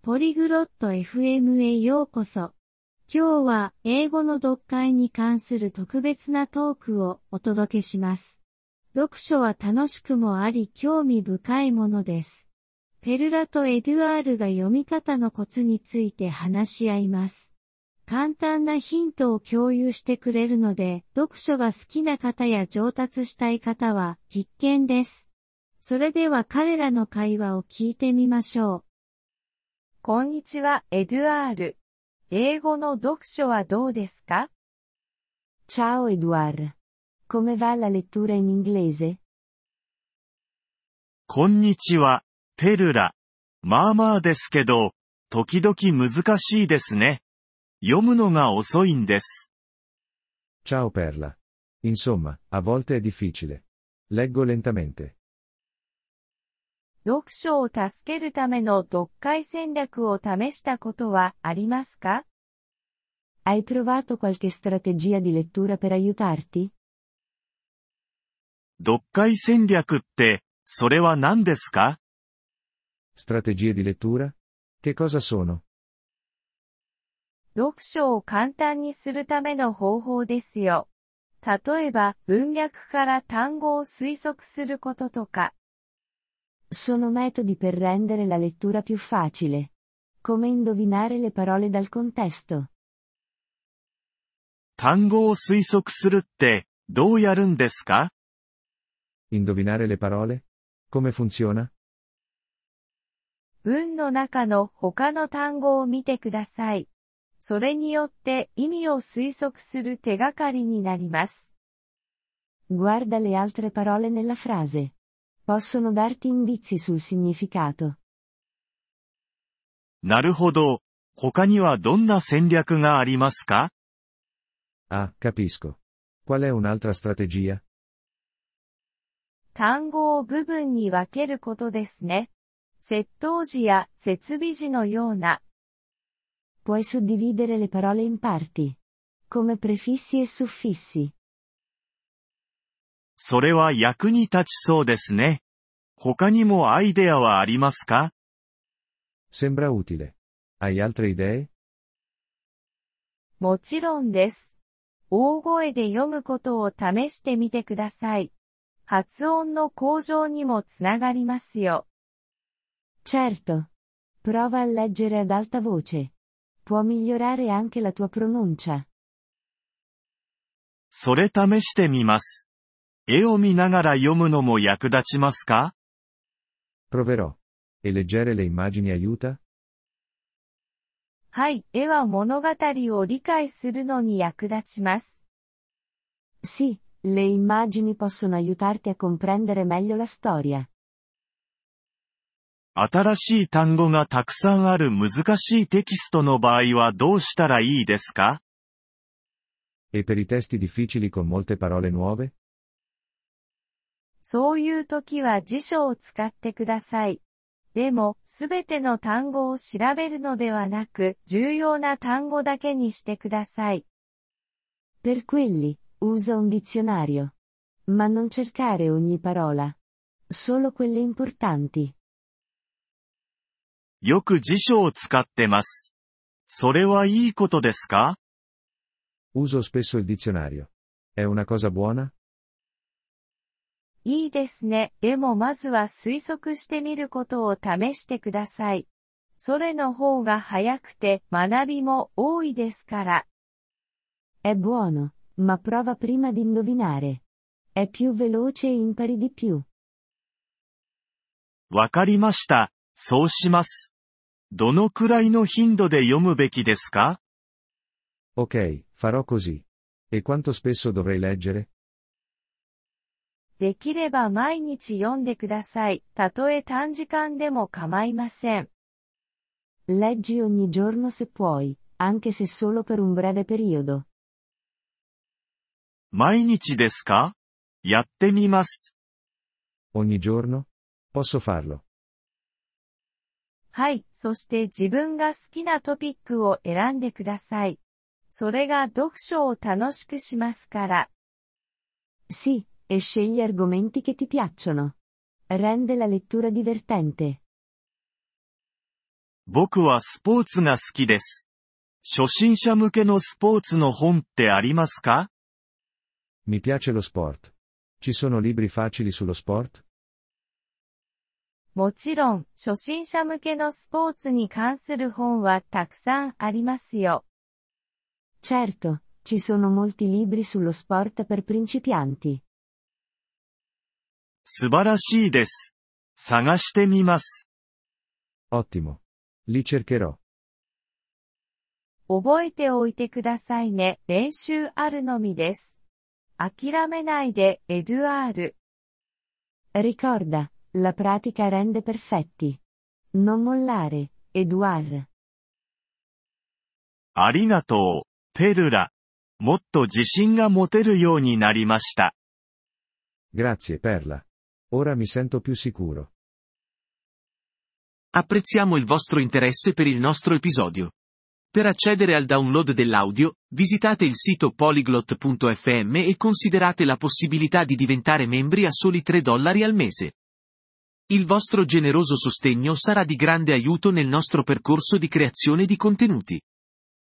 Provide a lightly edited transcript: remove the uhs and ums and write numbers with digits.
ポリグロット FM へようこそ。今日は英語の読解に関する特別なトークをお届けします。読書は楽しくもあり興味深いものです。ペルラとエドゥアールが読み方のコツについて話し合います。簡単なヒントを共有してくれるので、読書が好きな方や上達したい方は必見です。それでは彼らの会話を聞いてみましょう。こんにちは、エドゥアール。英語の読書はどうですか？ Ciao Edouard. Come va la lettura in inglese? こんにちは、ペルラ。まあまあですけど、時々難しいですね。読むのが遅いんです。 Ciao Perla. Insomma, a volte è difficile. Leggo lentamente. 読書を助けるための読解戦略を試したことはありますか？ Hai provato qualche strategia di lettura per aiutarti? 読解戦略って、それは何ですか？ Strategie di lettura? Che cosa sono? 読書を簡単にするための方法ですよ。例えば、文脈から単語を推測することとか。 Sono metodi per rendere la lettura più facile. Come indovinare le parole dal contesto. 単語を推測するって、どうやるんですか？ Indovinare le parole? Come funziona? 文の中の他の単語を見てください。それによって意味を推測する手がかりになります。 Guarda le altre parole nella frase. Possono darti indizi sul significato. なるほど。他にはどんな戦略がありますか？ Ah, capisco. Qual è un'altra strategia? 単語を部分に分けることですね。接頭辞や接尾辞のような。 Puoi suddividere le parole in parti. Come prefissi e suffissi. それは役に立ちそうですね。他にもアイデアはありますか？ Sembra utile. Hai altre idee? もちろんです。大声で読むことを試してみてください。発音の向上にもつながりますよ。 Certo. Prova a leggere ad alta voce. Può migliorare anche la tua pronuncia. それ試してみます。絵を見ながら読むのも役立ちますか？ Proverò. E leggere le immagini aiuta? はい、絵は物語を理解するのに役立ちます。 Sì, le immagini possono aiutarti a comprendere meglio la storia. 新しい単語がたくさんある難しいテキストの場合はどうしたらいいですか？ E per i testi difficili con molte parole nuove? そういう時は辞書を使ってください。でも、すべての単語を調べるのではなく、重要な単語だけにしてください。 Per quelli, usa un dizionario. Ma non cercare ogni parola. Solo quelle importanti. よく辞書を使ってます。それはいいことですか？ Uso spesso il dizionario. È una cosa buona? いいですね。でもまずは推測してみることを試してください。それの方が早くて学びも多いですから。 È buono, ma prova prima di indovinare. È più veloce e impari di più. わかりました。そうします。どのくらいの頻度で読むべきですか？ Ok, farò così. E quanto spesso dovrei leggere? できれば毎日読んでください。たとえ短時間でも構いません。 Leggi ogni giorno se puoi, anche se solo per un breve periodo. 毎日ですか？やってみます。 Ogni giorno? Posso farlo. はい、そして自分が好きなトピックを選んでください。それが読書を楽しくしますから。 Sì, e scegli argomenti che ti piacciono. Rende la lettura divertente. 僕はスポーツが好きです。初心者向けのスポーツの本ってありますか？ Mi piace lo sport. Ci sono libri facili sullo sport? もちろん、初心者向けのスポーツに関する本はたくさんありますよ。 Certo, ci sono molti libri sullo sport per principianti. 素晴らしいです。探してみます。 Ottimo. Li cercherò. 覚えておいてくださいね。練習あるのみです。諦めないで、エドゥアール。 Ricorda, la pratica rende perfetti. Non mollare, Edouard. ありがとう、ペルラ。もっと自信が持てるようになりました。 Grazie, Perla. Ora mi sento più sicuro. Apprezziamo il vostro interesse per il nostro episodio. Per accedere al download dell'audio, visitate il sito polyglot.fm e considerate la possibilità di diventare membri a soli $3 al mese. Il vostro generoso sostegno sarà di grande aiuto nel nostro percorso di creazione di contenuti.